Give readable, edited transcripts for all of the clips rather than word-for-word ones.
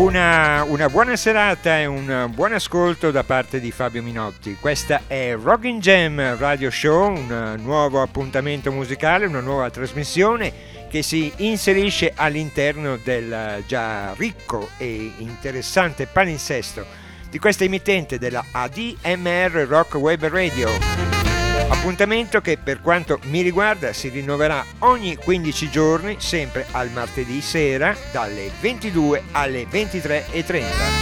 Una buona serata e un buon ascolto da parte di Fabio Minotti. Questa è Rockin' Jam Radio Show, un nuovo appuntamento musicale, una nuova trasmissione che si inserisce all'interno del già ricco e interessante palinsesto di questa emittente della ADMR Rock Web Radio. Appuntamento che per quanto mi riguarda si rinnoverà ogni 15 giorni, sempre al martedì sera dalle 22 alle 23:30.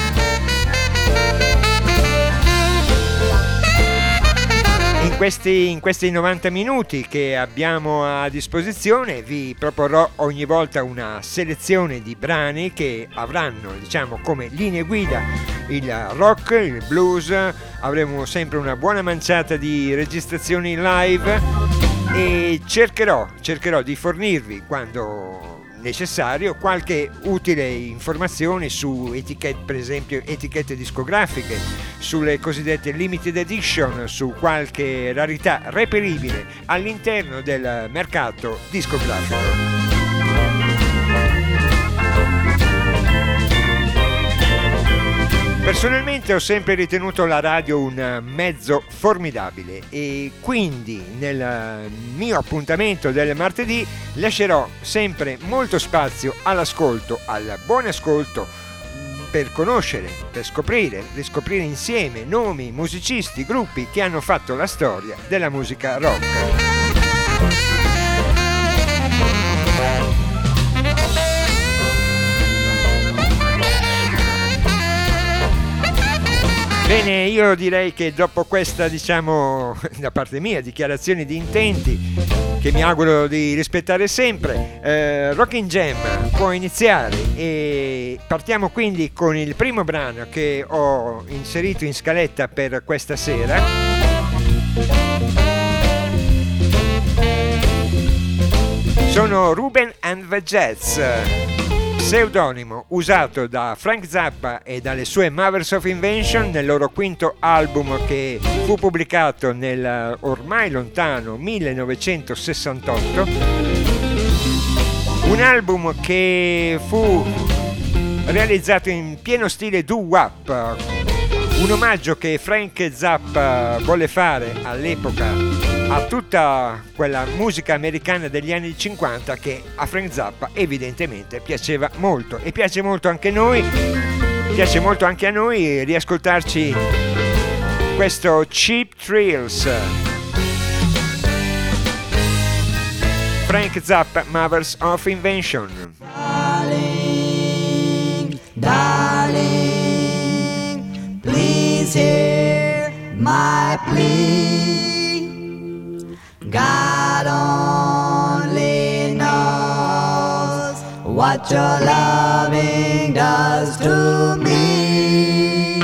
In questi 90 minuti che abbiamo a disposizione vi proporrò ogni volta una selezione di brani che avranno, diciamo, come linee guida il rock, il blues. Avremo sempre una buona manciata di registrazioni live e cercherò di fornirvi, quando necessario, qualche utile informazione su etichette, per esempio etichette discografiche, sulle cosiddette limited edition, su qualche rarità reperibile all'interno del mercato discografico. Personalmente ho sempre ritenuto la radio un mezzo formidabile e quindi nel mio appuntamento del martedì lascerò sempre molto spazio all'ascolto, al buon ascolto, per conoscere, per riscoprire insieme nomi, musicisti, gruppi che hanno fatto la storia della musica rock. Bene, io direi che dopo questa, diciamo, da parte mia, dichiarazione di intenti, che mi auguro di rispettare sempre, Rockin' Jam può iniziare e partiamo quindi con il primo brano che ho inserito in scaletta per questa sera. Sono Ruben and the Jets, pseudonimo usato da Frank Zappa e dalle sue Mothers of Invention nel loro quinto album che fu pubblicato nel ormai lontano 1968, un album che fu realizzato in pieno stile doo-wop, un omaggio che Frank Zappa volle fare all'epoca a tutta quella musica americana degli anni 50 che a Frank Zappa evidentemente piaceva molto e piace molto anche a noi riascoltarci questo Cheap Thrills. Frank Zappa, Mothers of Invention. Darling, please hear my plea. God only knows what your loving does to me.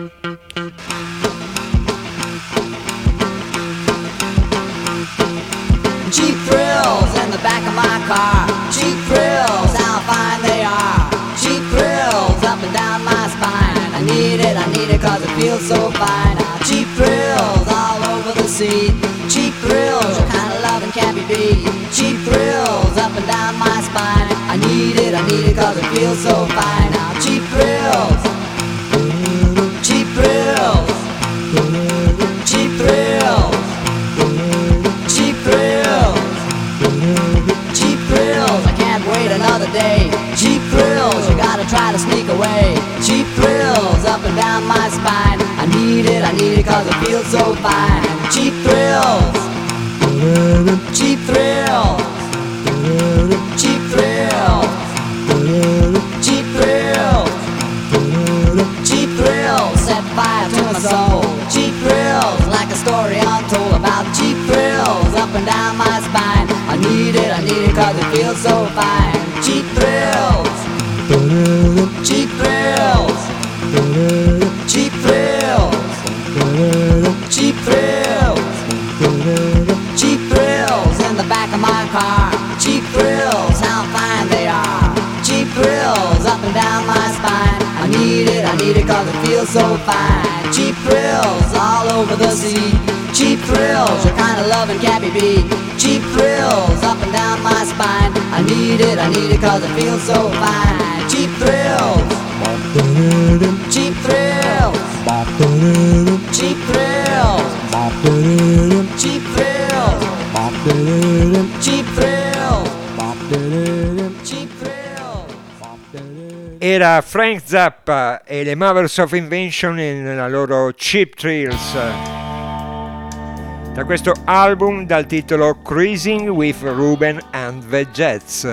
Cheap thrills in the back of my car. Cheap thrills, how fine they are. Cheap thrills up and down my spine. I need it cause it feels so fine. Cheap thrills all over the seat. Cheap thrills, the kind of loving can't be beat. Cheap thrills up and down my spine. I need it cause it feels so fine. Now cheap thrills, cheap thrills, cheap thrills, cheap thrills, cheap thrills. I can't wait another day. Cheap thrills, you gotta try to sneak away. Cheap thrills up and down my spine. I need it cause it feels so fine. Cheap thrills, cheap thrills, cheap thrills, cheap thrills, cheap thrills, set fire to my soul. Cheap thrills, like a story untold about cheap thrills up and down my spine. I need it cause it feels so fine. Cheap thrills, cheap thrills, cheap thrills, cheap thrills, cheap thrills in the back of my car. Cheap thrills, how fine they are. Cheap thrills up and down my spine. I need it cause it feels so fine. Cheap thrills all over the seat. Cheap thrills, your kind of loving can't be beat. Cheap thrills up and down my spine. I need it cause it feels so fine. Cheap thrills. Cheap thrills. Cheap thrills. Cheap thrills. Cheap thrills. Cheap thrills. Era Frank Zappa e le Mothers of Invention nella loro Cheap Thrills, da questo album dal titolo Cruising with Ruben and the Jets.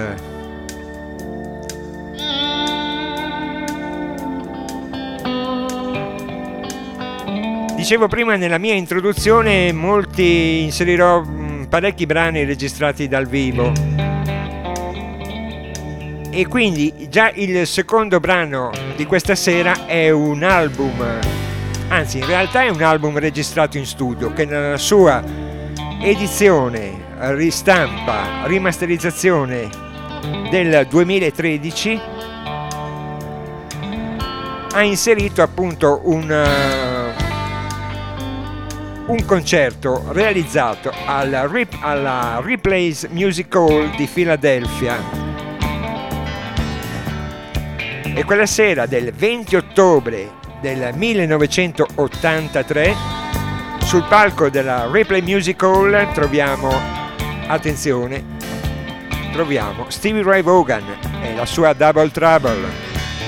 Dicevo prima nella mia introduzione, inserirò parecchi brani registrati dal vivo, e quindi già il secondo brano di questa sera è un album, anzi in realtà è un album registrato in studio che nella sua edizione, ristampa, rimasterizzazione del 2013 ha inserito appunto un concerto realizzato alla Ripley's Music Hall di Philadelphia, e quella sera del 20 ottobre del 1983 sul palco della Ripley Music Hall troviamo Stevie Ray Vaughan e la sua Double Trouble.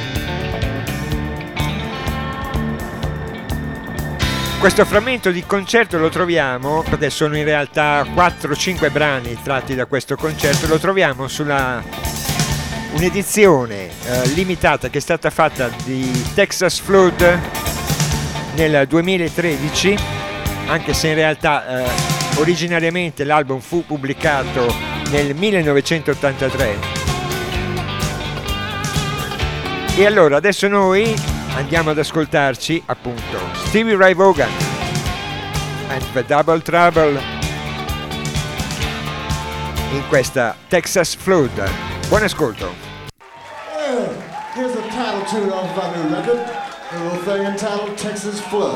Questo frammento di concerto lo troviamo, perché sono in realtà 4-5 brani tratti da questo concerto, lo troviamo sulla un'edizione limitata che è stata fatta di Texas Flood nel 2013, anche se in realtà originariamente l'album fu pubblicato nel 1983. E allora adesso noi andiamo ad ascoltarci appunto Stevie Ray Vaughan and the Double Trouble in questa Texas Flood. Buon ascolto. Here's the title tune off my new record, a little thing entitled Texas Flood.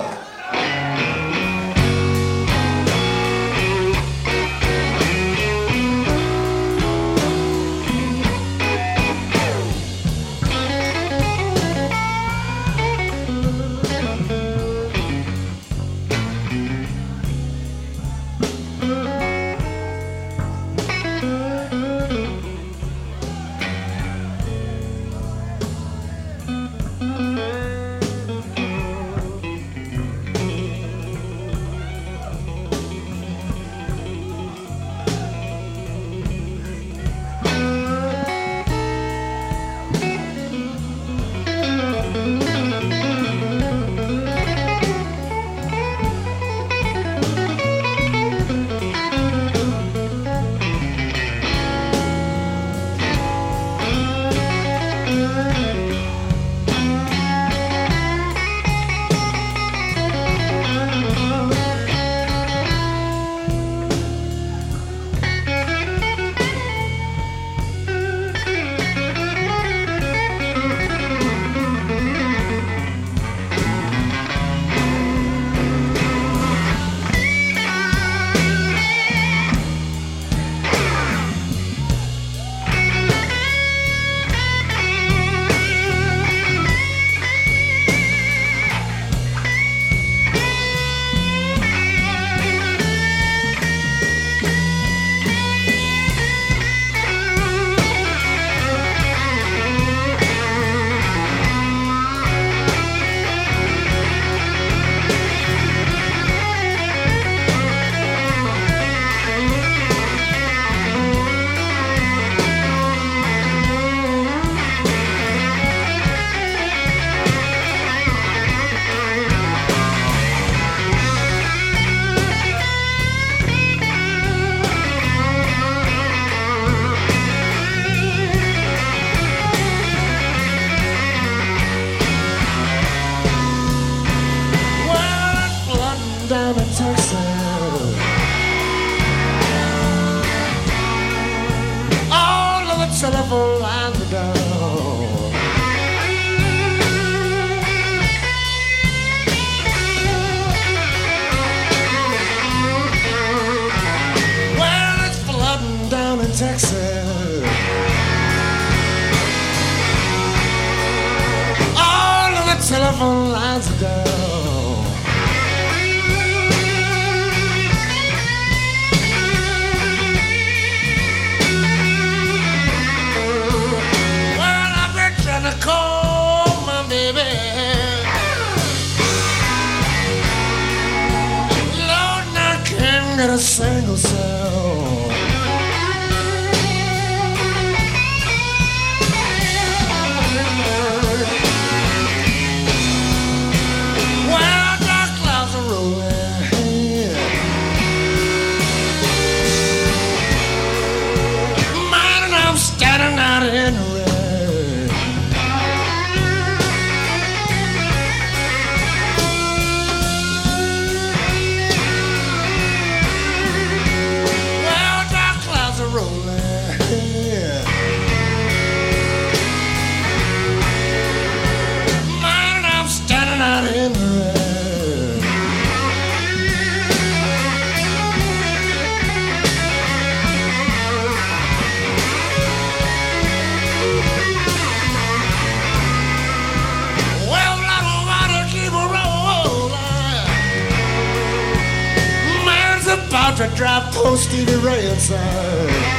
telephone lines are down. Well, I've been trying to call my baby. Lord, I can't get a single sound. Well, dark clouds are rolling. Man, and I'm standing out in the rain. Well, dark clouds are rolling. Man, and I'm standing out in the rain. Well, I don't want to keep a rolling. Man's about to drive post Stevie Ray inside.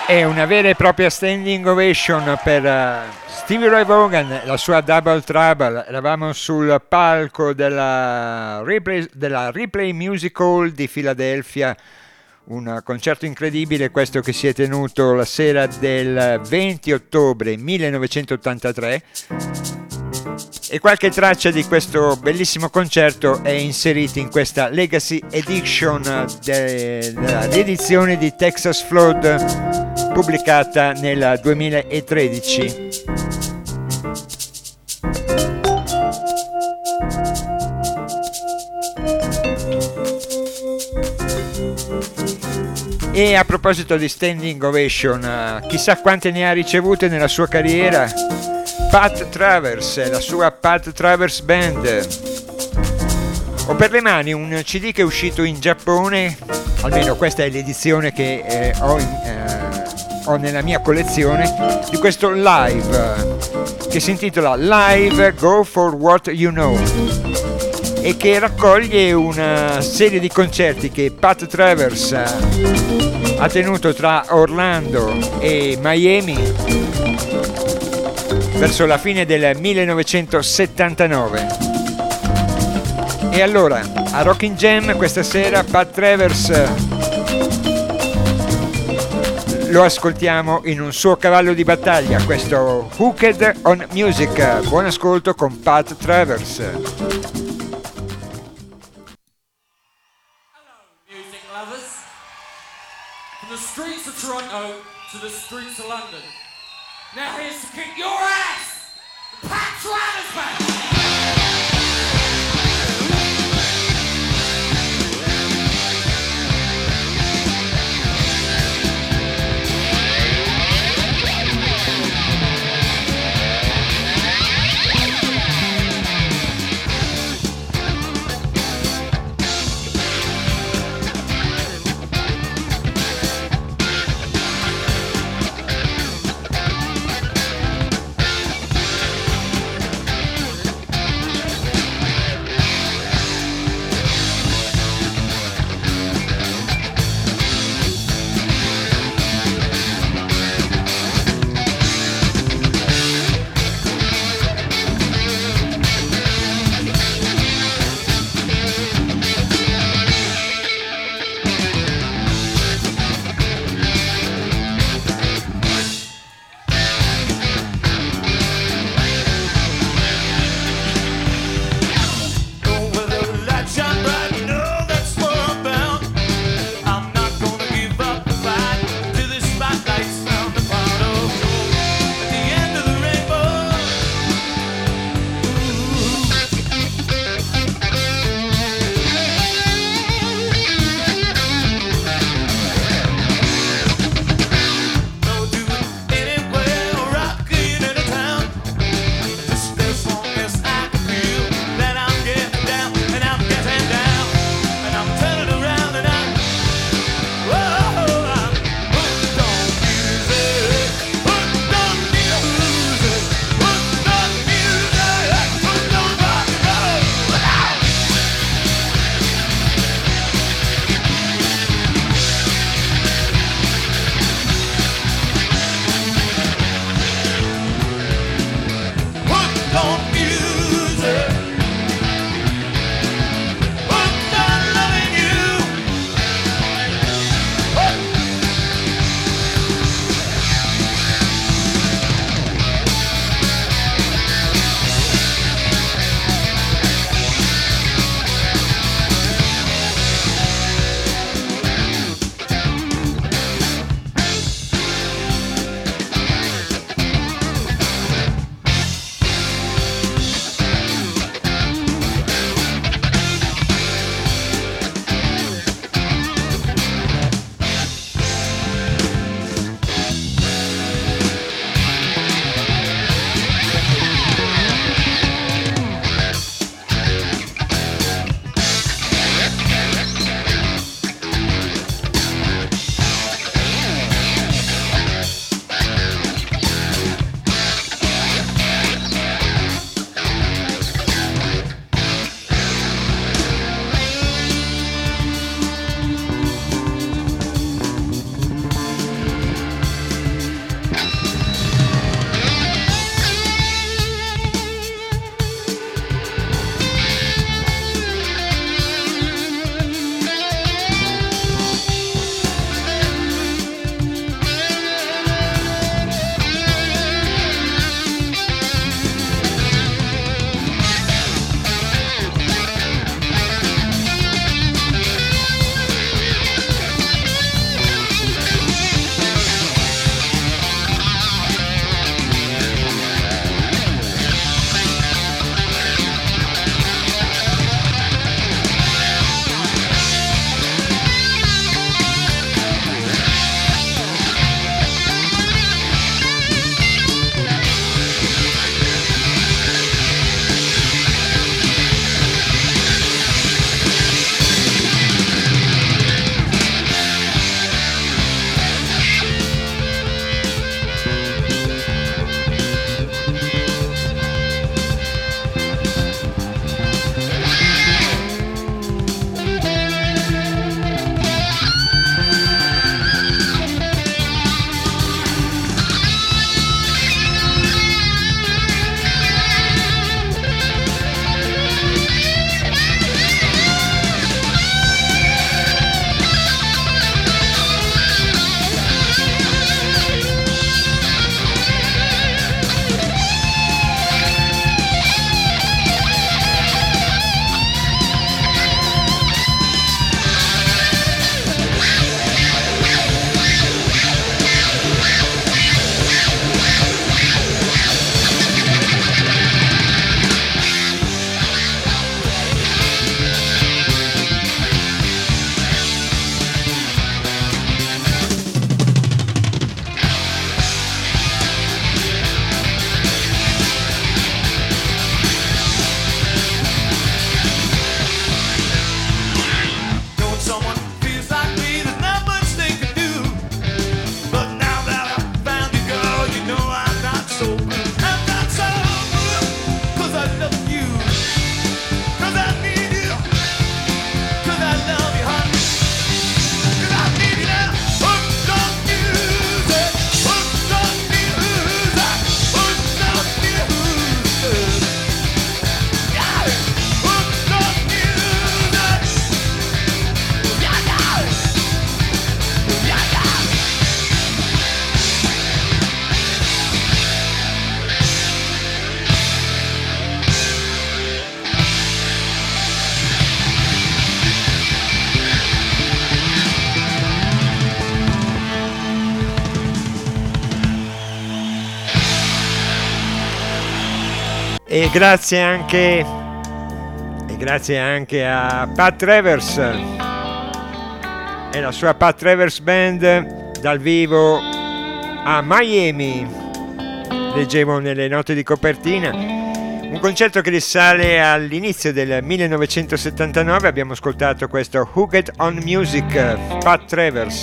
È una vera e propria standing ovation per Stevie Ray Vaughan, la sua Double Trouble. Eravamo sul palco della Ripley Music Hall di Filadelfia, un concerto incredibile questo che si è tenuto la sera del 20 ottobre 1983. E qualche traccia di questo bellissimo concerto è inserita in questa Legacy Edition dell'edizione di Texas Flood pubblicata nel 2013. E a proposito di standing ovation, chissà quante ne ha ricevute nella sua carriera Pat Travers, la sua Pat Travers Band. Ho per le mani un CD che è uscito in Giappone, almeno questa è l'edizione che ho nella mia collezione, di questo live che si intitola Live Go For What You Know e che raccoglie una serie di concerti che Pat Travers ha tenuto tra Orlando e Miami verso la fine del 1979. E allora, a Rockin' Jam questa sera Pat Travers lo ascoltiamo in un suo cavallo di battaglia, questo Hooked on Music. Buon ascolto con Pat Travers. Hello, music lovers. From the streets of Toronto to the streets of London. Now here's to kick your ass, the Pat Travers Band. E grazie anche a Pat Travers e la sua Pat Travers Band dal vivo a Miami. Leggevo nelle note di copertina un concerto che risale all'inizio del 1979. Abbiamo ascoltato questo Hooked on Music, Pat Travers,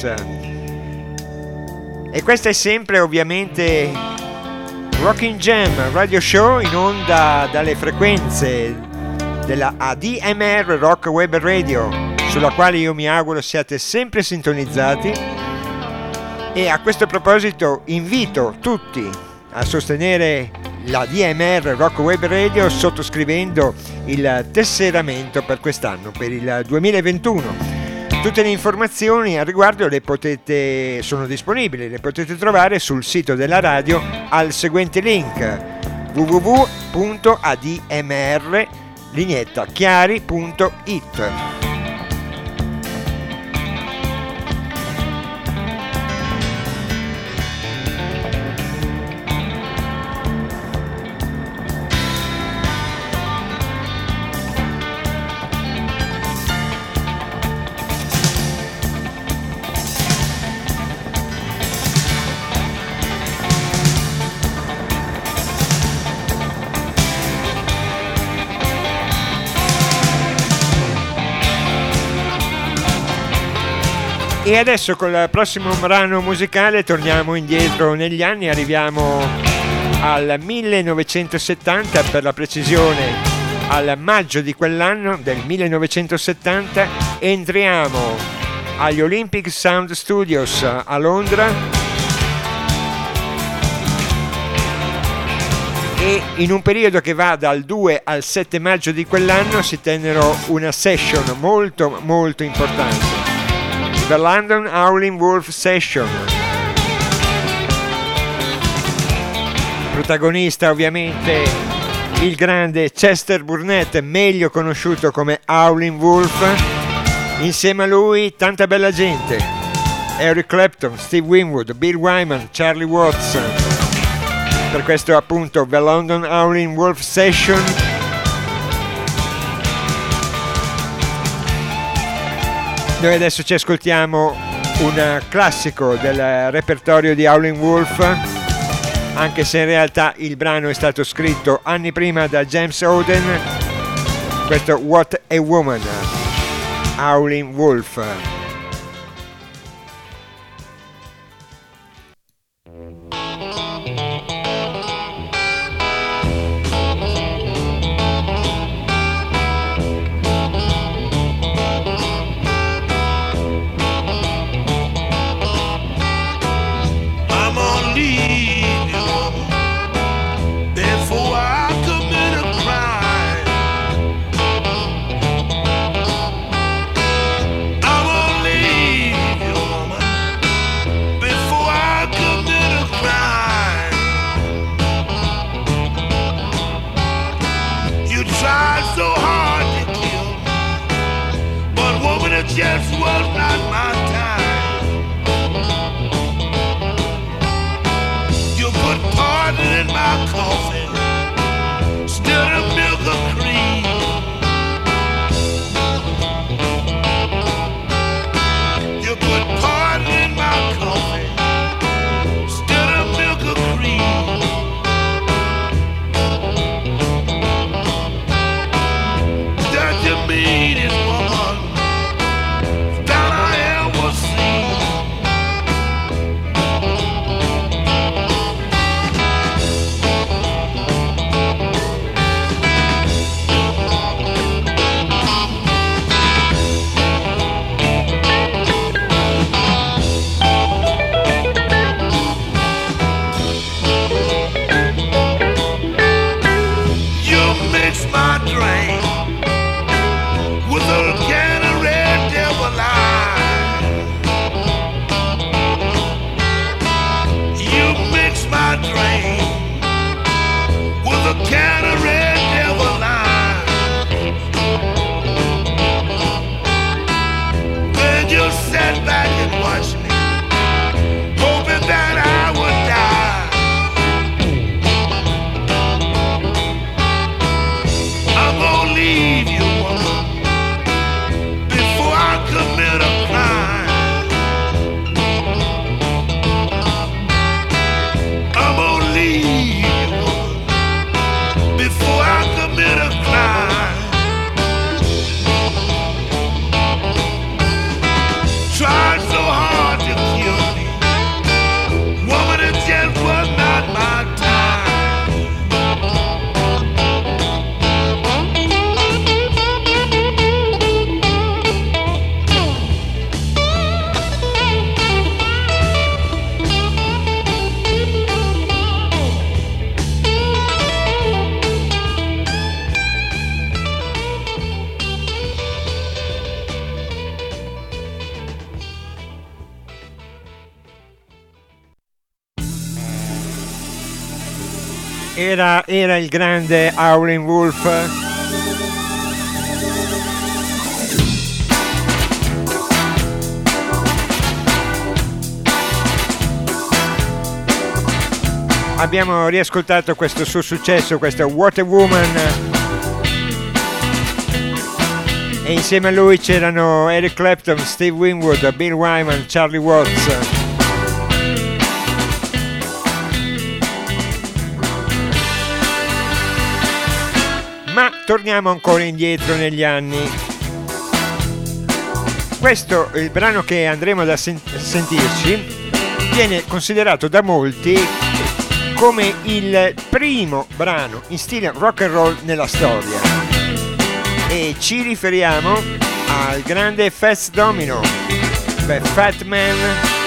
e questa è sempre ovviamente Rocking Jam Radio Show, in onda dalle frequenze della ADMR Rock Web Radio, sulla quale io mi auguro siate sempre sintonizzati. E a questo proposito invito tutti a sostenere la DMR Rock Web Radio sottoscrivendo il tesseramento per quest'anno, per il 2021. Tutte le informazioni al riguardo sono disponibili, le potete trovare sul sito della radio al seguente link: www.admr-chiari.it. E adesso col prossimo brano musicale torniamo indietro negli anni, arriviamo al 1970, per la precisione al maggio di quell'anno del 1970 entriamo agli Olympic Sound Studios a Londra e in un periodo che va dal 2 al 7 maggio di quell'anno si tennero una session molto molto importante, The London Howling Wolf Session. Protagonista ovviamente il grande Chester Burnett, meglio conosciuto come Howling Wolf. Insieme a lui tanta bella gente: Eric Clapton, Steve Winwood, Bill Wyman, Charlie Watts. Per questo appunto The London Howling Wolf Session. Noi adesso ci ascoltiamo un classico del repertorio di Howling Wolf, anche se in realtà il brano è stato scritto anni prima da James Oden. Questo What a Woman, Howling Wolf. Just was not my time. You put poison in my coffee, stirred up milk or cream. You put poison in my coffee, stirred up milk or cream. That you mean it, woman? Era il grande Howlin' Wolf. Abbiamo riascoltato questo suo successo, questo What a Woman, e insieme a lui c'erano Eric Clapton, Steve Winwood, Bill Wyman, Charlie Watts. Ma torniamo ancora indietro negli anni. Questo, il brano che andremo ad sentirci, viene considerato da molti come il primo brano in stile rock and roll nella storia, e ci riferiamo al grande Fats Domino, The Fat Man.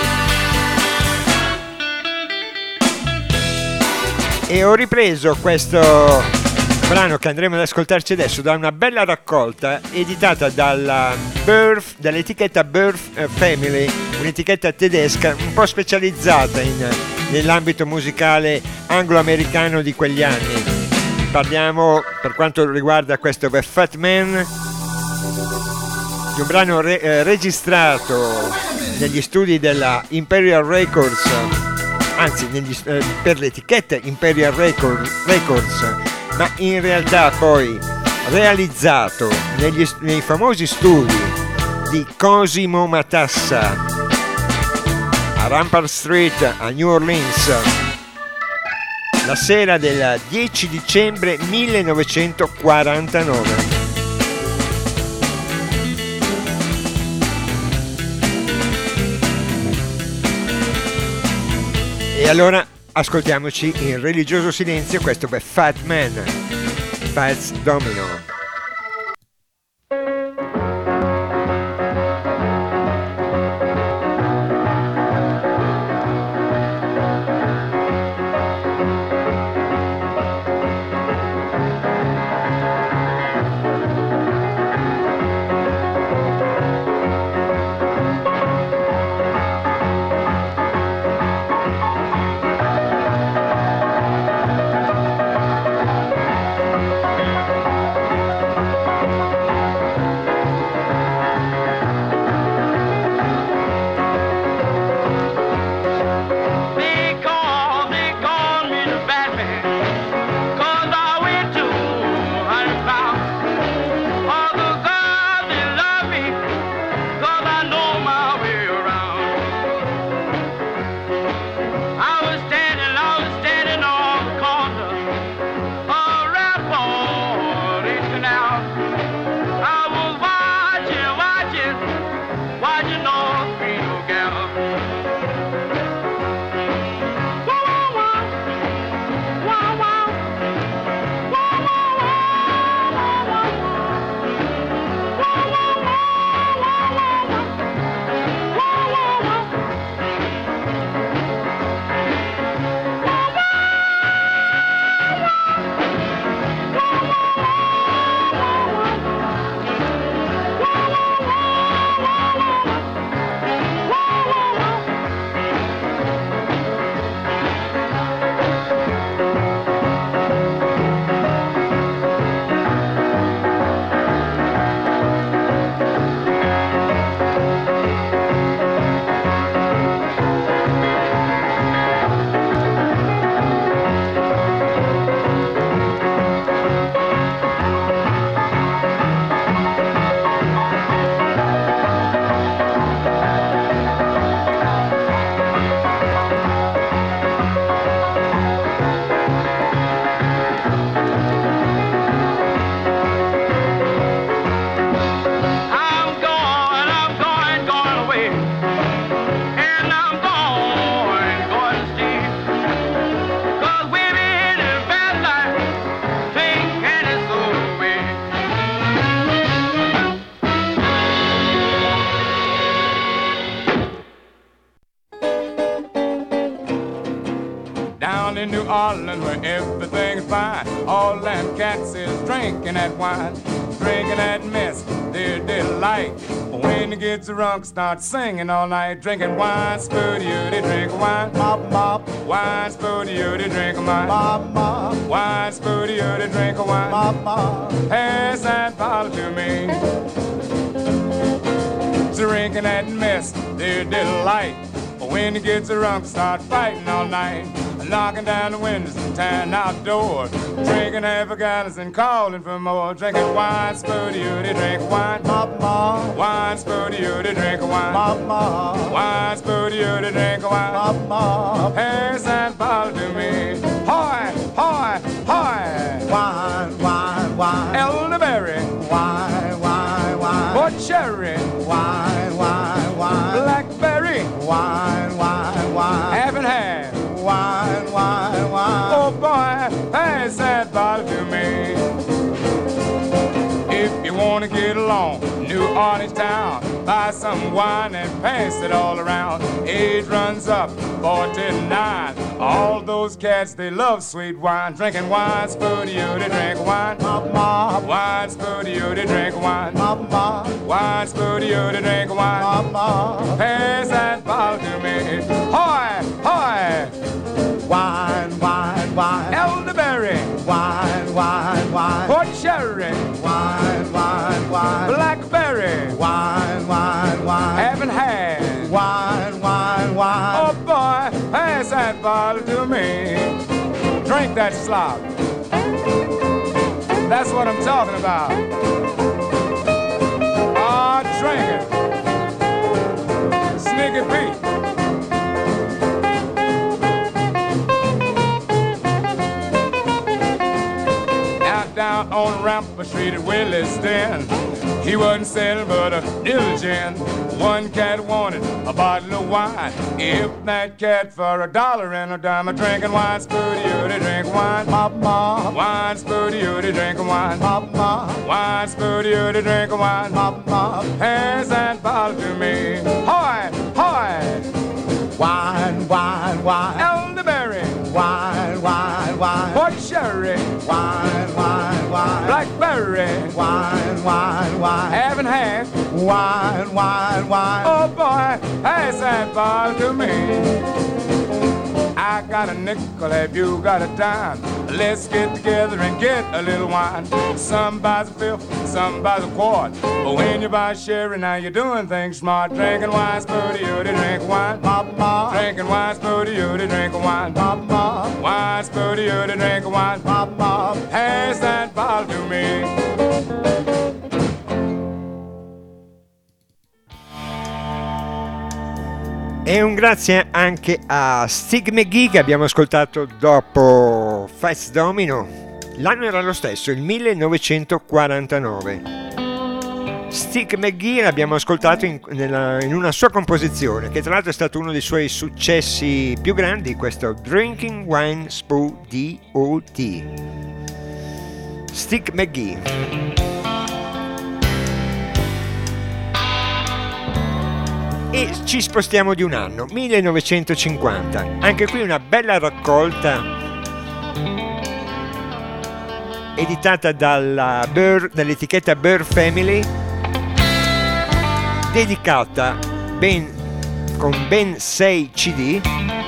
E ho ripreso questo brano che andremo ad ascoltarci adesso da una bella raccolta editata dall'etichetta Birth Family, un'etichetta tedesca un po' specializzata nell'ambito musicale anglo-americano di quegli anni. Parliamo, per quanto riguarda questo The Fat Man, di un brano registrato negli studi della Imperial Records, anzi per l'etichetta Imperial Records, ma in realtà poi realizzato nei famosi studi di Cosimo Matassa a Rampart Street a New Orleans la sera del 10 dicembre 1949. E allora ascoltiamoci in religioso silenzio questo per Fat Man, Fats Domino. In New Orleans where everything's fine, all them cats is drinking that wine, drinking that mess, they're delighted. delight. When he gets drunk, start singing all night, drinking wine, spooty, they drink wine, mop, mop. Wine, spooty, they drink wine, mop, mop. Wine, spooty, they drink wine, mop, mop. Pass that bottle to me. Drinking that mess, their delight. When he gets drunk, start fighting all night, knocking down the windows and tearing out doors, drinking half a gallon and calling for more, drinking wine, spooty, they drink wine, mop, mop. Wine, spooty, they drink wine, mop, mop. Wine, spooty, they drink wine, mop, mop. Pass that bottle to me. Hoy, hoy, hoy. Wine, wine, wine. Elderberry. Wine, wine, wine. Or cherry. Wine, wine, wine. Blackberry. Wine, wine, wine. Half and half. Wine, wine, wine. Oh boy, pass that bottle to me. If you want to get along, New Orleans town, buy some wine and pass it all around. Age runs up, 49. All those cats, they love sweet wine. Drinking wine, spooty, they drink wine, mop, mop. Wine, spooty, they drink wine, mop, mop. Wine, spooty, they drink wine, mop, mop. Pass that bottle to me. Hoy, hoy. Wine, wine, wine. Elderberry. Wine, wine, wine. Port cherry. Wine, wine, wine. Blackberry. Wine, wine, wine. Half and half. Wine, wine, wine. Oh boy, pass that bottle to me. Drink that slop. That's what I'm talking about. Ah, drink it. Sneaky Pete. Down on Rampart Street at Williston, he wasn't selling but a diligent. One cat wanted a bottle of wine. If that cat for $1 and a dime, drinking wine, spooty, they drink wine, mop, mop. Wine, spooty, they drink wine, mop, mop. Wine, spooty, they drink wine, mop, mop. Pass that bottle to me. Hoy, hoy. Wine, wine, wine. Elderberry. Wine, wine, wine. Port cherry. Wine, wine, wine. Blackberry. Wine, wine, wine. Half and half. Wine, wine, wine. Oh boy, pass that bottle to me. I got a nickel, have you got a dime? Let's get together and get a little wine. Some buys a fifth, some buys a quart. But when you buy sherry, now you're doing things smart. Drinking wine, spooty, they drink wine, mop, mop. Drinking wine, spooty, they drink wine, mop, mop. Wine, spooty, they drink wine, mop, mop. Pass that bottle to me. E un grazie anche a Stig McGee che abbiamo ascoltato dopo Fats Domino. L'anno era lo stesso, il 1949. Stig McGee l'abbiamo ascoltato in una sua composizione, che tra l'altro è stato uno dei suoi successi più grandi, questo Drinking Wine Spoo D.O.T. Stig McGee. E ci spostiamo di un anno, 1950. Anche qui una bella raccolta editata dall'etichetta Bird Family, dedicata con ben 6 CD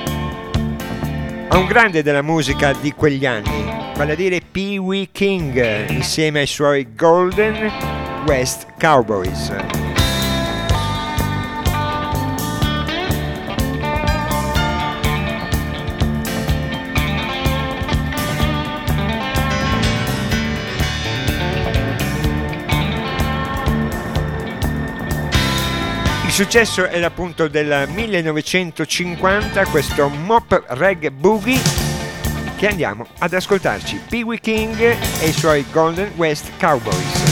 a un grande della musica di quegli anni, vale a dire Pee Wee King, insieme ai suoi Golden West Cowboys. Il successo era appunto del 1950, questo Mop Rag Boogie, che andiamo ad ascoltarci. Pee Wee King e i suoi Golden West Cowboys.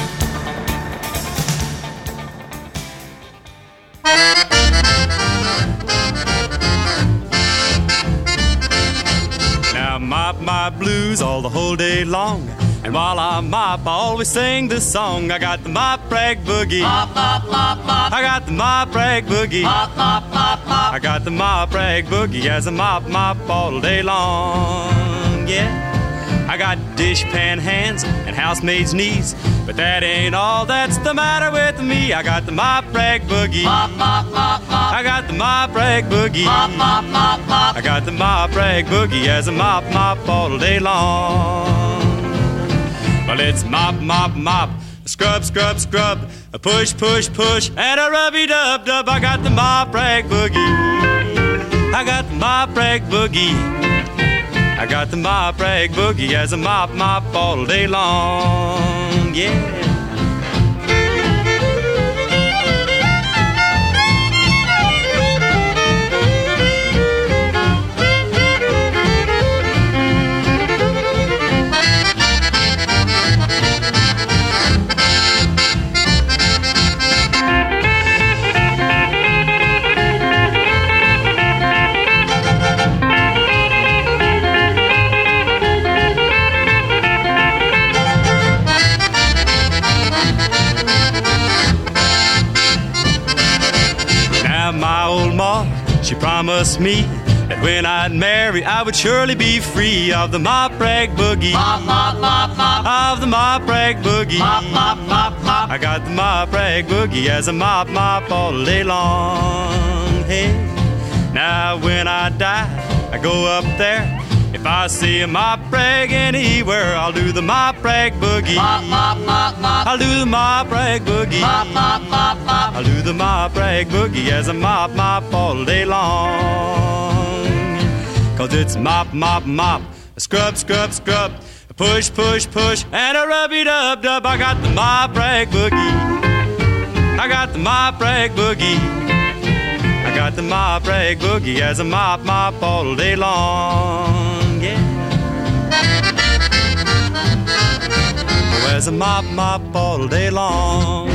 Now mop my blues all the whole day long. And while I mop, I always sing this song. I got the mop rag boogie. Mop, mop, mop, mop. I got the mop rag boogie. Mop, mop, mop, mop. I got the mop rag boogie as I mop all day long. Yeah. I got dishpan hands and housemaids' knees, but that ain't all that's the matter with me. I got the mop rag boogie. Mop, mop, mop, mop. I got the mop rag boogie. Mop, mop, mop, mop. I got the mop rag boogie as a mop all day long. Well, it's mop, mop, mop. Scrub, scrub, scrub. A push, push, push, and a rubby-dub-dub. I got the mop rag boogie. I got the mop rag boogie. I got the mop rag boogie as a mop all day long. Yeah. My old ma, she promised me that when I'd marry, I would surely be free of the mop rag boogie. Mop, mop, mop, mop. Of the mop rag boogie. Mop, mop, mop, mop. I got the mop rag boogie as a mop all day long. Hey, now when I die, I go up there. If I see a mop rag anywhere, I'll do the mop rag boogie. Mop, mop, mop, mop. I'll do the mop rag boogie. Mop, mop, mop, mop. I'll do the mop rag boogie as a mop all day long. 'Cause it's mop, mop, mop. Scrub, scrub, scrub. Push, push, push, and a rubby-dub-dub. I got the mop rag boogie. I got the mop rag boogie. I got the mop rag boogie as a mop all day long. Yeah. Oh, as a mop all day long.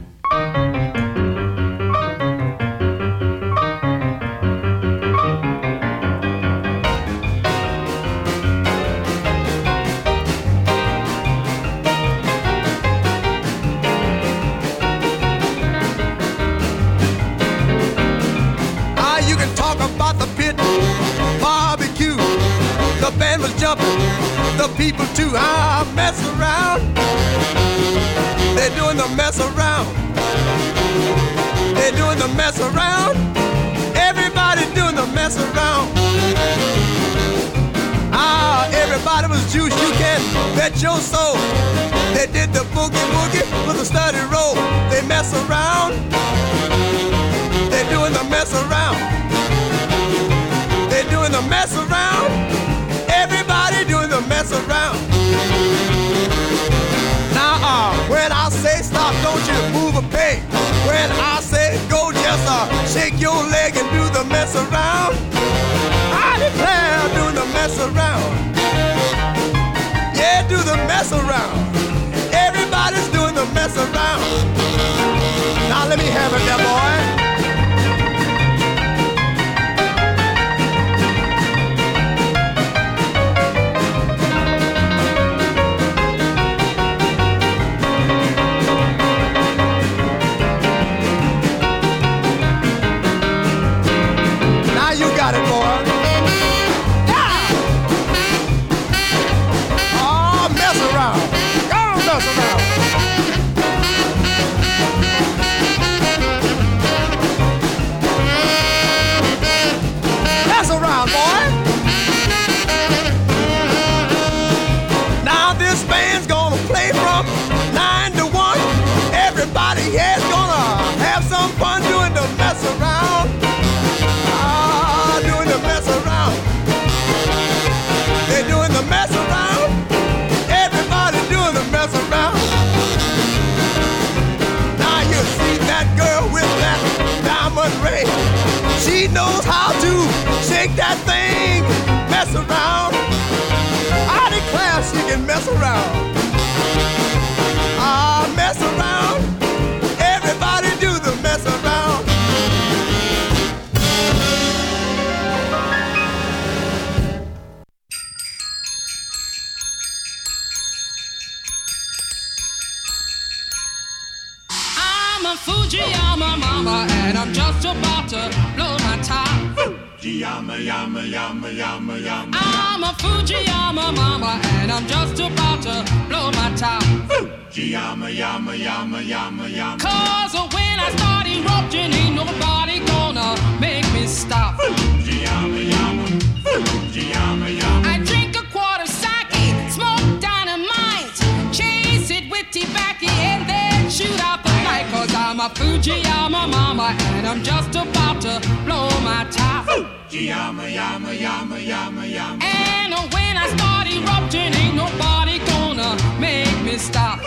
You can talk about the pit, barbecue. The band was jumping, the people too. Mess around. They're doing the mess around. They're doing the mess around. Everybody doing the mess around. Everybody was juice, you can bet your soul. They did the boogie woogie with a steady roll. They mess around. They're doing the mess around. They're doing the mess around. Everybody doing the mess around. Now, when I say stop, don't you move a peg. When I say go, just shake your leg and do the mess around. I declare, doing the mess around. Yeah, do the mess around. Everybody's doing the mess around. Now let me have it there, boy. Got it, boy. Yeah. Oh, mess around. Go on, mess around. Mess around, boy. Now this band's gonna play from 9 to 1. Everybody here's gonna have some fun doing the mess around. Doing the mess around. They're doing the mess around. Everybody doing the mess around. Now you see that girl with that diamond ring. She knows how to shake that thing, mess around. I declare she can mess around. Mess around. Everybody do the mess around. I'm a Fujiyama mama, and I'm just about to blow my top. Fujiyama, yama, yama, yama, yama. I'm a Fujiyama mama, and I'm just about to blow my top. Fujiyama, yama, yama, yama, yama. Cause when I start erupting, ain't nobody gonna make me stop. Fujiyama, yama, Fujiyama, yama. I drink a quart of sake, smoke dynamite, chase it with tobacco, and then shoot out the light. Cause I'm a Fujiyama mama, and I'm just about to blow my top. Fujiyama, yama, yama, yama, yama. And when I start erupting, ain't nobody gonna make me stop.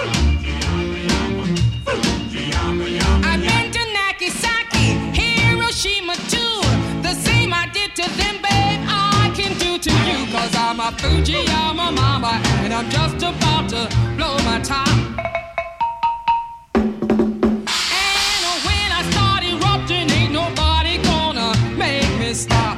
I've been to Nagasaki, Hiroshima too. The same I did to them, babe, I can do to you. Cause I'm a Fujiyama mama, and I'm just about to blow my top. And when I start erupting, ain't nobody gonna make me stop.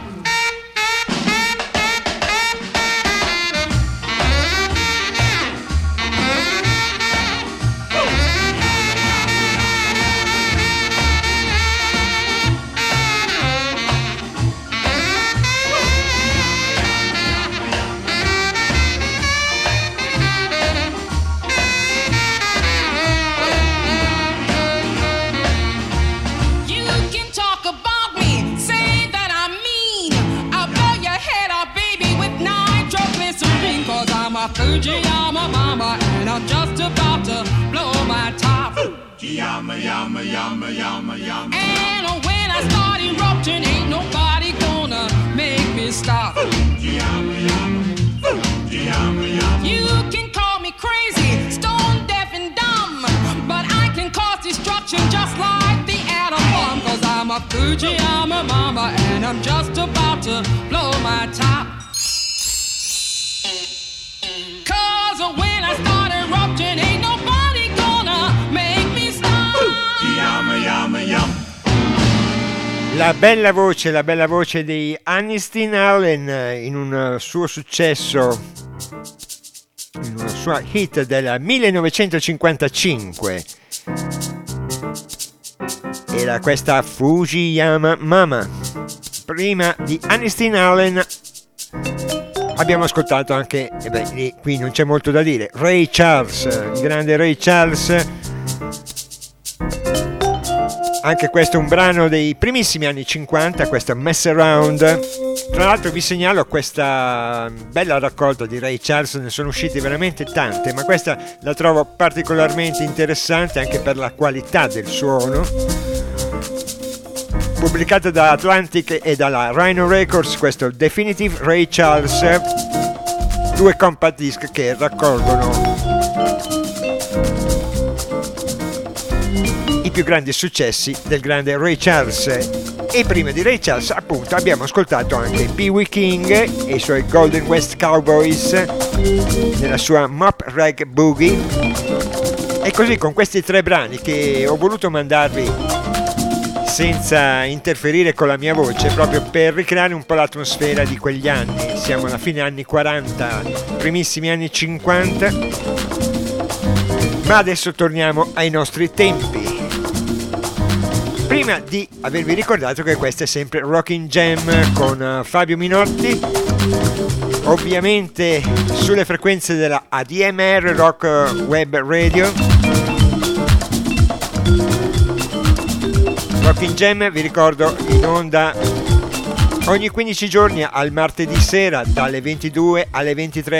Fujiyama mama, and I'm just about to blow my top. Fujiyama, yama, yama, yama, yama. And when I start erupting, ain't nobody gonna make me stop. Fujiyama, yama, Fujiyama, yama. You can call me crazy, stone deaf and dumb, but I can cause destruction just like the atom bomb. Cause I'm a Fujiyama mama, and I'm just about to blow my top. When I start erupting, ain't nobody gonna make me stop. Yama, yama, yama. La bella voce di Aniston Allen in un suo successo, in una sua hit del 1955. Era questa Fujiyama Mama. Prima di Aniston Allen abbiamo ascoltato anche, qui non c'è molto da dire, Ray Charles, il grande Ray Charles. Anche questo è un brano dei primissimi anni 50, questa Mess Around. Tra l'altro vi segnalo questa bella raccolta di Ray Charles, ne sono uscite veramente tante, ma questa la trovo particolarmente interessante anche per la qualità del suono. Pubblicata da Atlantic e dalla Rhino Records, questo Definitive Ray Charles, 2 compact disc che raccolgono i più grandi successi del grande Ray Charles. E prima di Ray Charles, appunto, abbiamo ascoltato anche Pee Wee King e i suoi Golden West Cowboys nella sua Mop Rag Boogie. E così, con questi 3 brani che ho voluto mandarvi senza interferire con la mia voce, proprio per ricreare un po' l'atmosfera di quegli anni. Siamo alla fine anni 40, primissimi anni 50, ma adesso torniamo ai nostri tempi. Prima di avervi ricordato che questa è sempre Rockin' Jam con Fabio Minotti, ovviamente sulle frequenze della ADMR Rock Web Radio. Rockin' Jam, vi ricordo, in onda ogni 15 giorni al martedì sera dalle 22 alle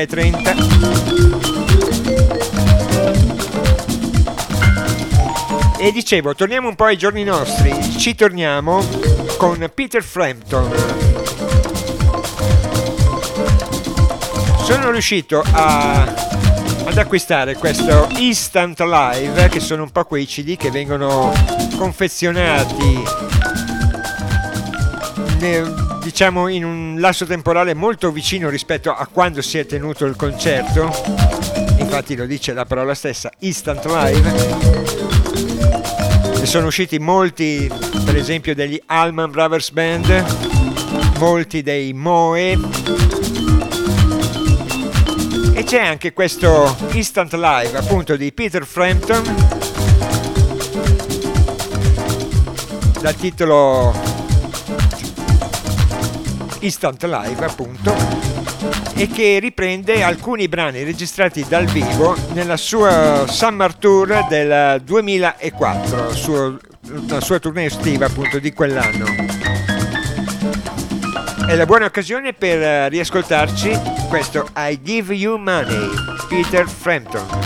23:30. E dicevo, torniamo un po' ai giorni nostri, ci torniamo con Peter Frampton. Sono riuscito ad acquistare questo Instant Live, che sono un po' quei CD che vengono confezionati diciamo in un lasso temporale molto vicino rispetto a quando si è tenuto il concerto. Infatti lo dice la parola stessa, Instant Live. Ne sono usciti molti, per esempio degli Allman Brothers Band, molti dei Moe, e c'è anche questo Instant Live appunto di Peter Frampton, dal titolo Instant Live, appunto, e che riprende alcuni brani registrati dal vivo nella sua Summer Tour del 2004, la sua tournée estiva appunto di quell'anno. È la buona occasione per riascoltarci questo I Give You Money, Peter Frampton.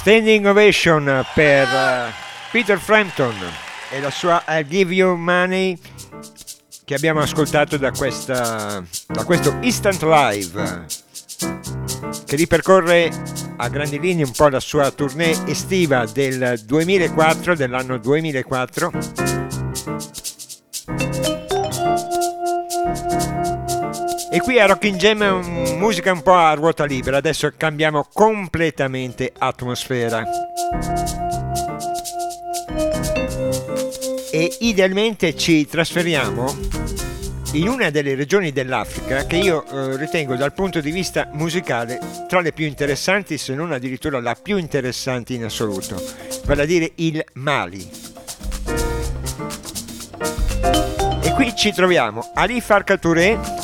Standing ovation per Peter Frampton e la sua I'll Give You Money, che abbiamo ascoltato da questo Instant Live, che ripercorre a grandi linee un po' la sua tournée estiva dell'anno 2004. E qui a Rockin' Jam musica un po' a ruota libera. Adesso cambiamo completamente atmosfera e idealmente ci trasferiamo in una delle regioni dell'Africa che io ritengo dal punto di vista musicale tra le più interessanti, se non addirittura la più interessante in assoluto, vale a dire il Mali. E qui ci troviamo Ali Farka Touré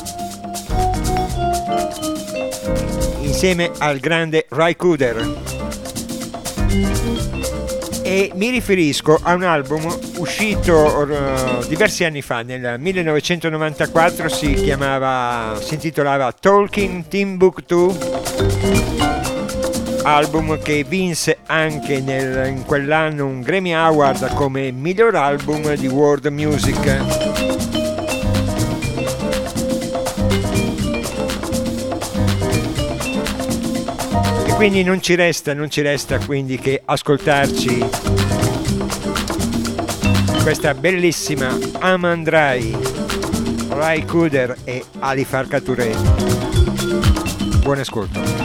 insieme al grande Ry Cooder, e mi riferisco a un album uscito diversi anni fa, nel 1994, si intitolava Talking Timbuktu, album che vinse anche in quell'anno un Grammy Award come miglior album di world music. Quindi non ci resta quindi che ascoltarci questa bellissima Aman Rai, Ry Cooder e Ali Farka Touré. Buon ascolto.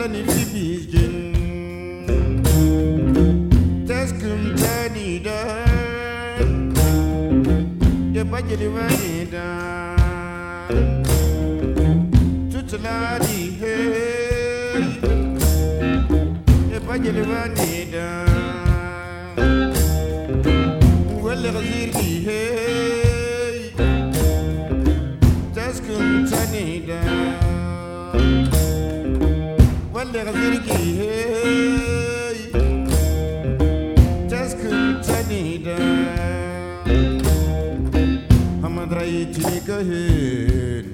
Imalani Fibijin Taskum Tanida Yabajali Vanida Tutaladi Hey Yabajali Vanida Well Razirki Hey Taskum Tanida Wale Razirki Hey Taskum Tanida Hamadrai Tika Hey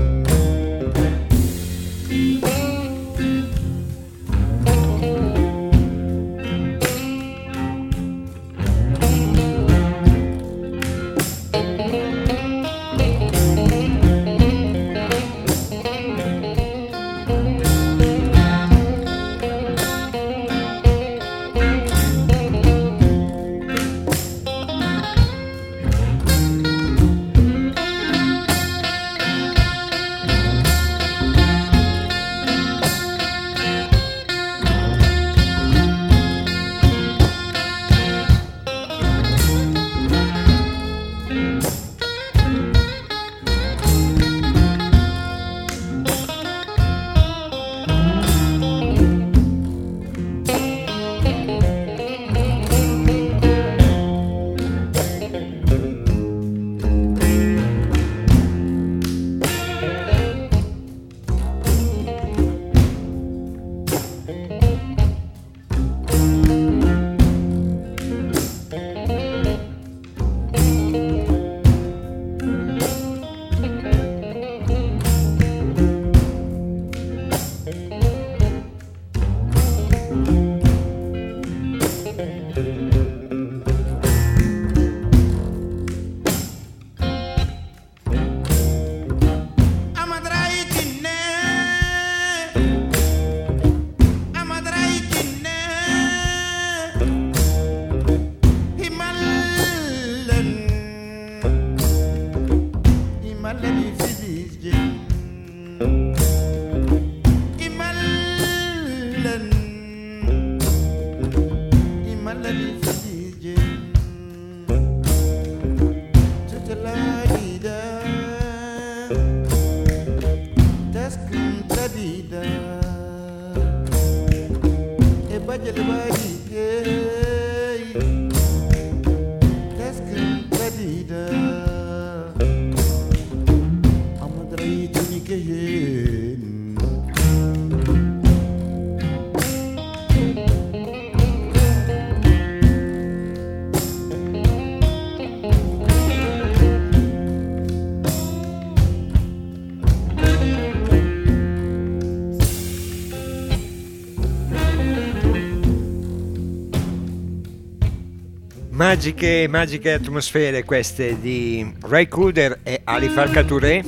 Magiche atmosfere queste di Ray Cooder e Ali Farka Touré.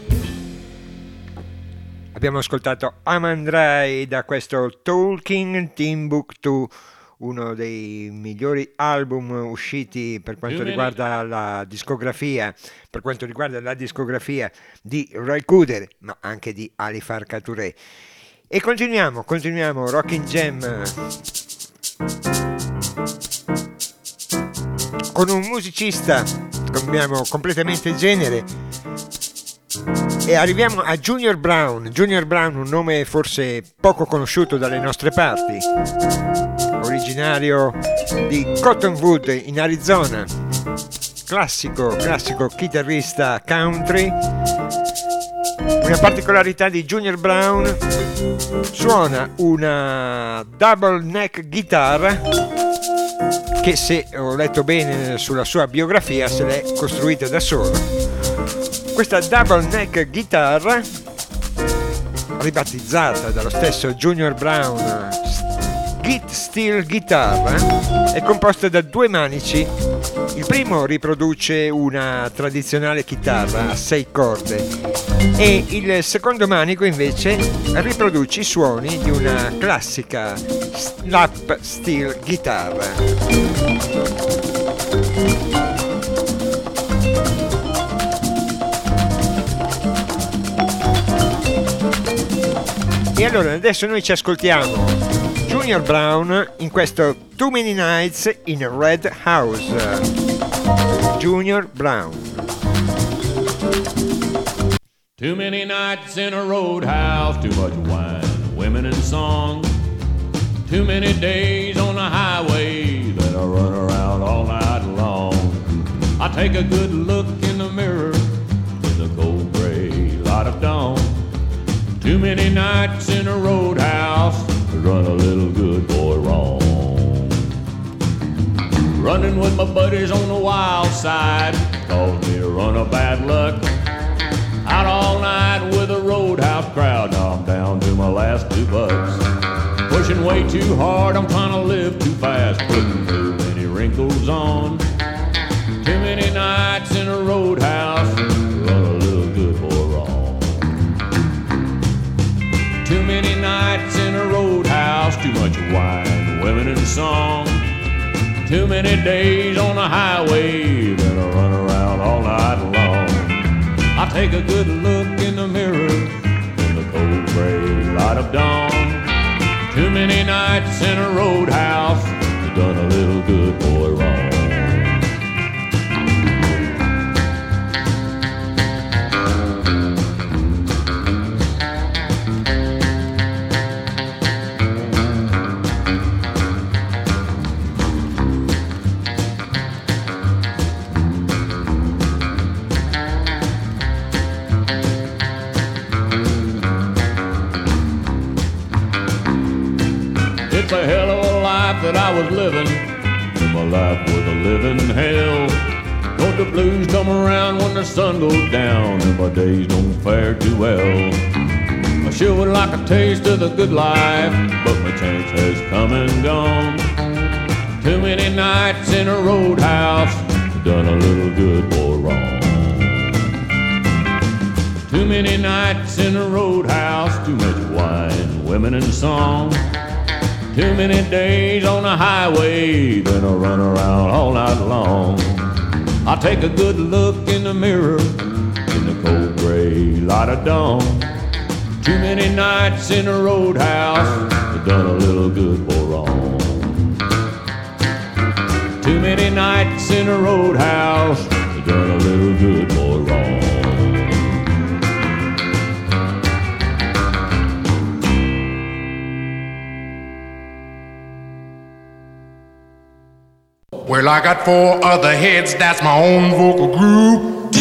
Abbiamo ascoltato Amandrai da questo Talking Timbuktu, uno dei migliori album usciti per quanto riguarda la discografia, di Ray Cooder, ma anche di Ali Farka Touré. E continuiamo Rockin' Jam con un musicista, cambiamo completamente genere e arriviamo a Junior Brown, un nome forse poco conosciuto dalle nostre parti, originario di Cottonwood in Arizona, classico chitarrista country. Una particolarità di Junior Brown: suona una double neck guitar che, se ho letto bene sulla sua biografia, se l'è costruita da solo. Questa double neck guitar, ribattezzata dallo stesso Junior Brown Steel Guitar, è composta da due manici. Il primo riproduce una tradizionale chitarra a 6 corde e il secondo manico invece riproduce i suoni di una classica lap steel guitar. E allora adesso noi ci ascoltiamo Junior Brown in questo Too Many Nights in a Red House. Junior Brown. Too many nights in a roadhouse, too much wine, women and song. Too many days on the highway that I run around all night long. I take a good look in the mirror in the cold gray light of dawn. Too many nights in a roadhouse to run a little good boy wrong. Running with my buddies on the wild side caused me a run of bad luck. Out all night with a roadhouse crowd, now I'm down to my last $2. Pushing way too hard, I'm trying to live too fast, putting too many wrinkles on. Too many nights in a roadhouse, run a little good boy wrong. Too many nights in a roadhouse, too much wine, women and song. Too many days on the highway, then I run around all night long. I take a good look in the mirror in the cold gray light of dawn. Too many nights in a roadhouse, done a little good boy wrong. It's a hell of a life that I was living, and my life was a living hell. Don't the blues come around when the sun goes down, and my days don't fare too well. I sure would like a taste of the good life, but my chance has come and gone. Too many nights in a roadhouse, done a little good boy wrong. Too many nights in a roadhouse, too much wine, women and song. Too many days on the highway, then I run around all night long. I take a good look in the mirror in the cold gray light of dawn. Too many nights in a roadhouse, done a little good boy wrong. Too many nights in a roadhouse, done a little good boy wrong. Well, I got 4 other heads, that's my own vocal group.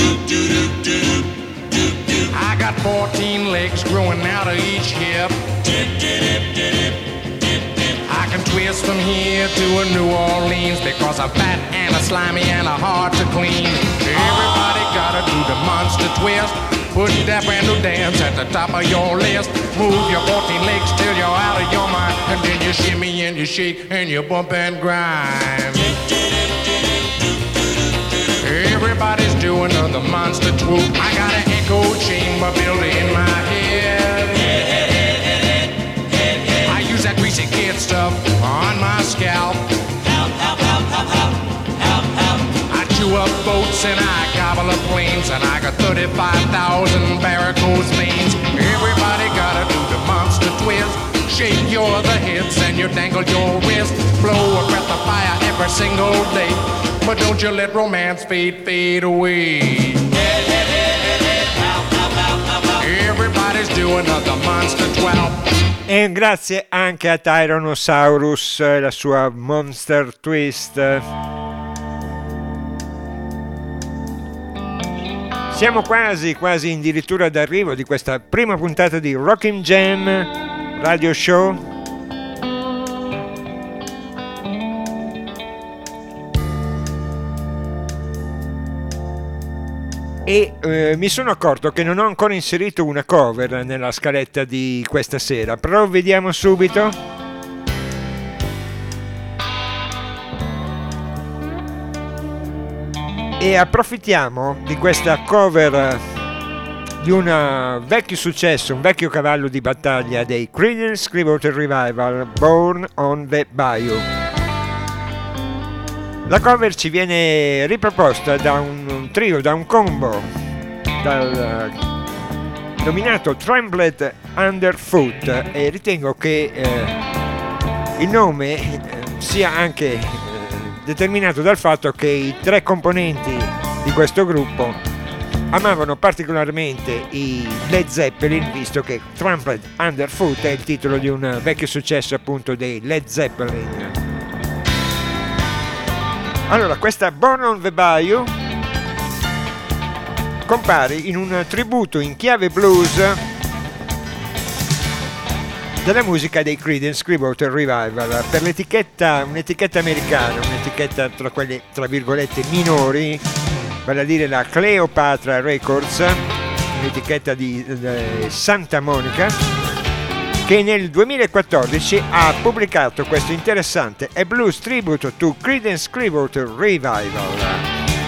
I got 14 legs growing out of each hip. I can twist from here to a New Orleans because I'm fat and a slimy and a hard to clean. Everybody gotta do the monster twist. Put that brand new dance at the top of your list. Move your 14 legs till you're out of your mind, and then you shimmy and you shake and you bump and grind. Everybody's doing the monster swoop. I got an echo chamber built in my head. I use that greasy kid stuff on my scalp. I chew up boats and I gobble up planes, and I got 35,000 varicose veins. Everybody gotta do the monster twist. Shake your other hips and you dangle your wrist. Blow a breath of fire every single day, but don't you let romance fade away. Everybody's doing the monster 12. E grazie anche a Tyrannosaurus e la sua Monster Twist. Siamo quasi addirittura d'arrivo di questa prima puntata di Rockin' Jam Radio Show. E mi sono accorto che non ho ancora inserito una cover nella scaletta di questa sera, però vediamo subito. E approfittiamo di questa cover di un vecchio successo, un vecchio cavallo di battaglia dei Creedence Clearwater Revival, Born on the Bayou. La cover ci viene riproposta da un trio, da un combo, dal nominato Trampled Underfoot, e ritengo che il nome sia anche determinato dal fatto che i tre componenti di questo gruppo amavano particolarmente i Led Zeppelin, visto che Trampled Underfoot è il titolo di un vecchio successo appunto dei Led Zeppelin. Allora, questa Born on the Bayou compare in un tributo in chiave blues della musica dei Creedence Clearwater Revival per un'etichetta americana, un'etichetta tra quelle tra virgolette minori, vale a dire la Cleopatra Records, un'etichetta di Santa Monica, che nel 2014 ha pubblicato questo interessante A Blues Tribute to Creedence Clearwater Revival.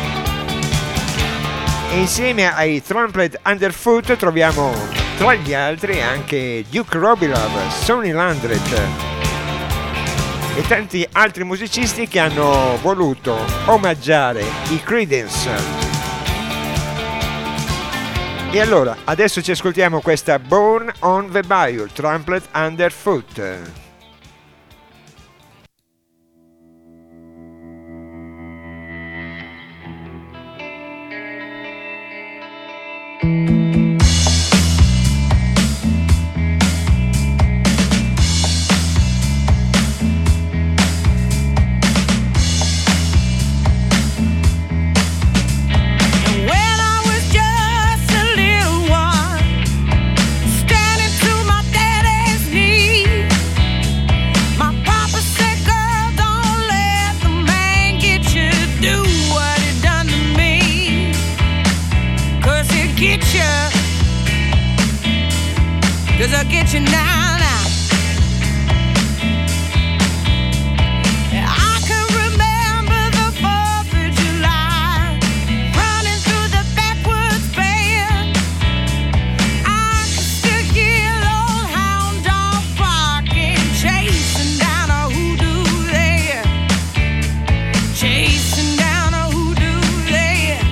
E insieme ai Trampled Underfoot troviamo tra gli altri anche Duke Robillard, Sonny Landreth e tanti altri musicisti che hanno voluto omaggiare i Creedence. E allora, adesso ci ascoltiamo questa Born on the Bayou, Trampled Underfoot. Cause I'll get you now, now. I can remember the 4th of July, running through the backwoods band. I can still hear old hound dog barking, chasing down a hoodoo there, chasing down a hoodoo there.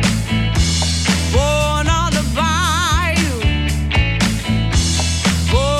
Born on the bayou, born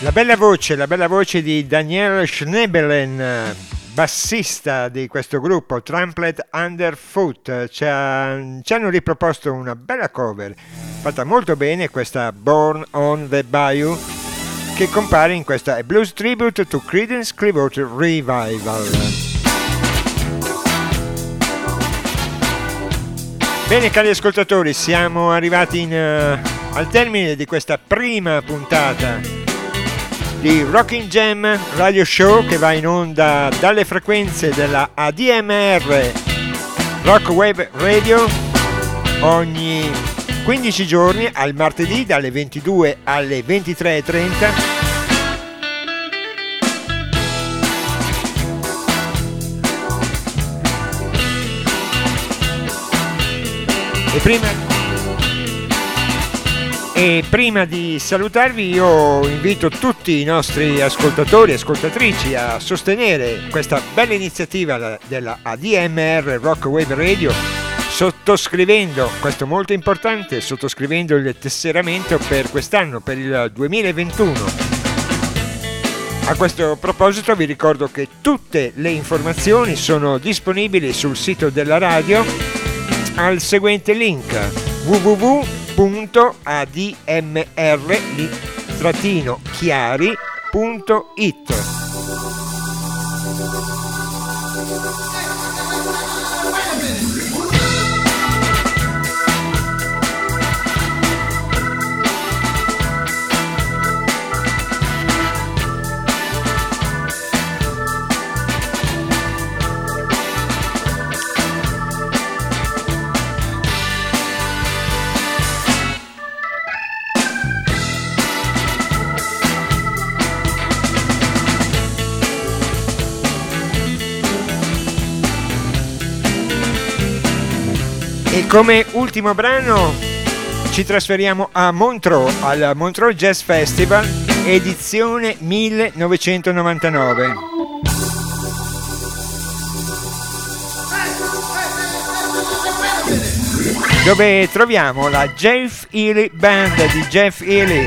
La bella voce di Daniel Schnebelen, bassista di questo gruppo Trampled Underfoot. Ci hanno riproposto una bella cover fatta molto bene, questa Born on the Bayou, che compare in questa A Blues Tribute to Creedence Clearwater Revival. Bene cari ascoltatori, siamo arrivati al termine di questa prima puntata di Rockin' Jam Radio Show, che va in onda dalle frequenze della ADMR Rock Wave Radio ogni 15 giorni al martedì dalle 22 alle 23:30. E prima di salutarvi io invito tutti i nostri ascoltatori e ascoltatrici a sostenere questa bella iniziativa della ADMR Rock Wave Radio sottoscrivendo, questo molto importante, sottoscrivendo il tesseramento per quest'anno, per il 2021. A questo proposito vi ricordo che tutte le informazioni sono disponibili sul sito della radio al seguente link: www.admr-chiari.it. E come ultimo brano ci trasferiamo a Montreux, al Montreux Jazz Festival edizione 1999. Dove troviamo la Jeff Healey Band di Jeff Healey.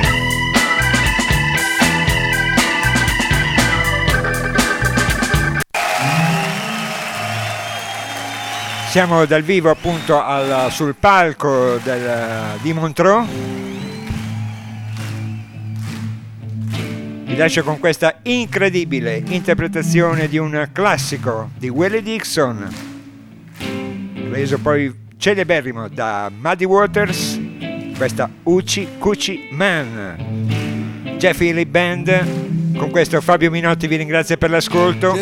Siamo dal vivo appunto sul palco di Montreux. Vi lascio con questa incredibile interpretazione di un classico di Willie Dixon, reso poi celeberrimo da Muddy Waters, questa Hoochie Coochie Man. Jeff Healey Band. Con questo Fabio Minotti vi ringrazia per l'ascolto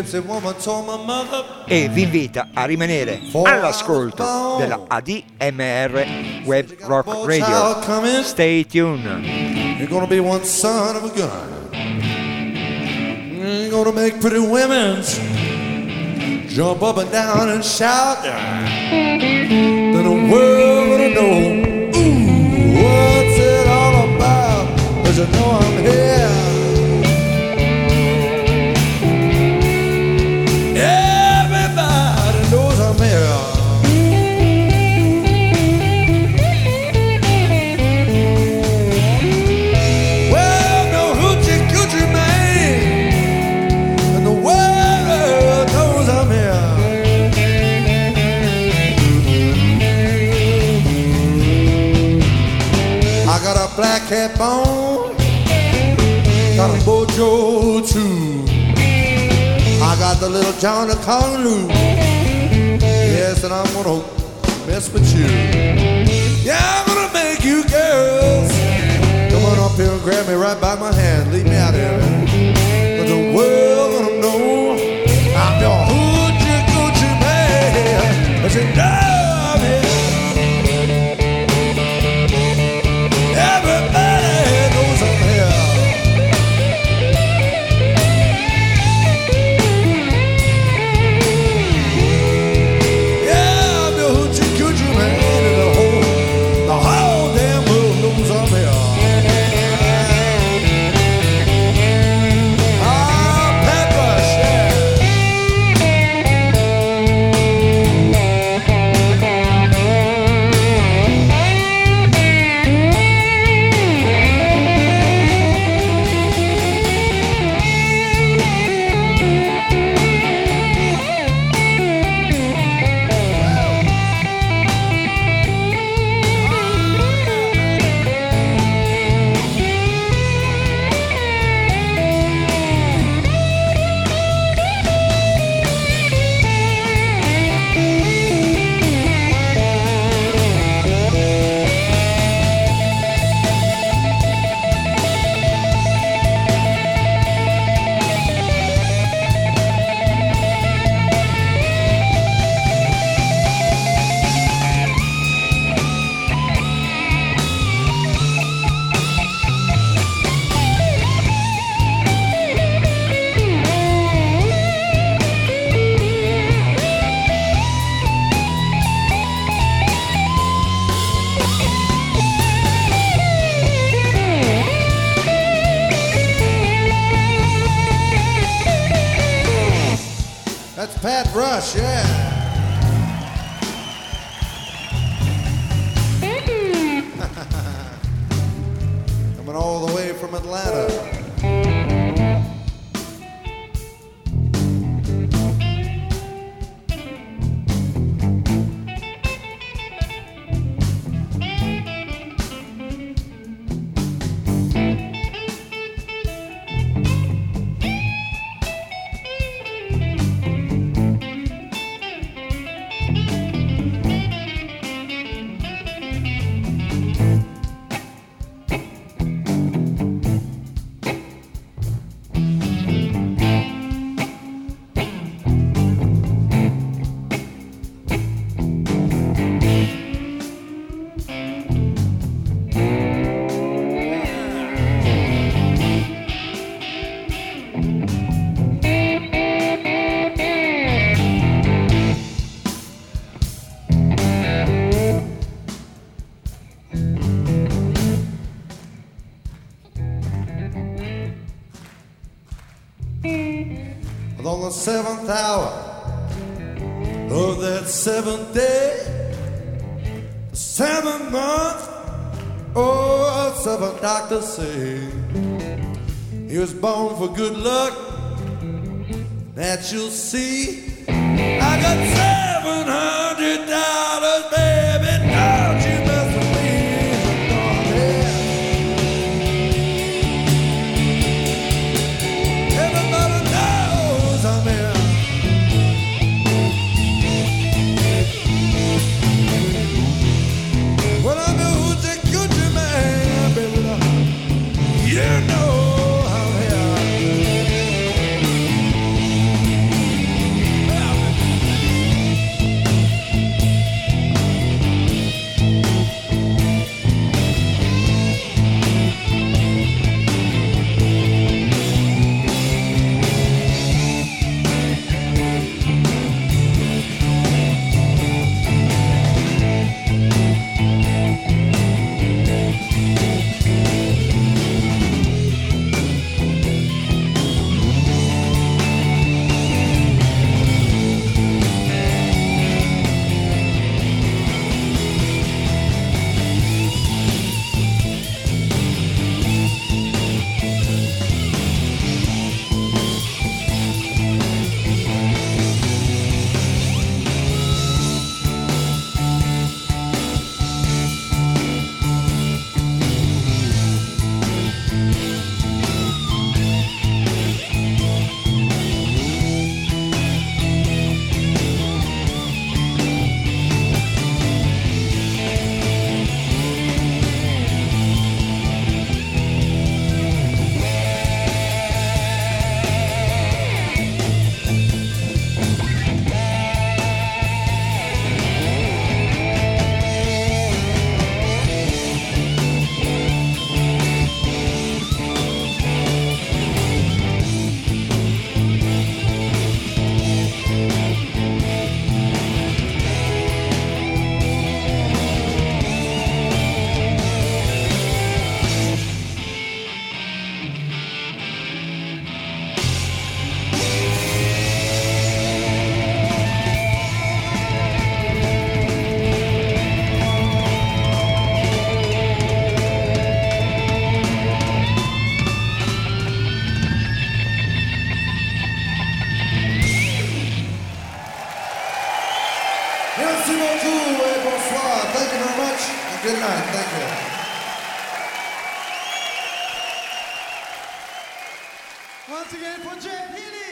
e vi invita a rimanere all'ascolto della ADMR Web Rock Radio. Stay tuned. You're gonna be one son of a gun. You're gonna make pretty women jump up and down and shout. Then the world gonna know, ooh, what's it all about? 'Cause you know I'm here. Everybody knows I'm here. Well, no hoochie coochie man, and the world knows I'm here. I got a black hat on, got a mojo too. I got the little John of Conloo. Yes, and I'm gonna mess with you. Yeah, I'm gonna make you girls come on up here and grab me right by my hand. Lead me out here. But the world gonna know I'm your hoochie coochie man. But you know I'm here. Everybody knows I'm here. Pat Rush, yeah. Coming all the way from Atlanta. But on the seventh hour of that seventh day, the seventh month, oh, seven doctors say he was born for good luck. That you'll see. I got $700, baby. Don't you mess with me. Everybody knows I'm here. Well, I know who's a good man, baby. You know I'm here. Merci beaucoup et bonsoir. Thank you very much and good night. Thank you. Once again for Jay Healy.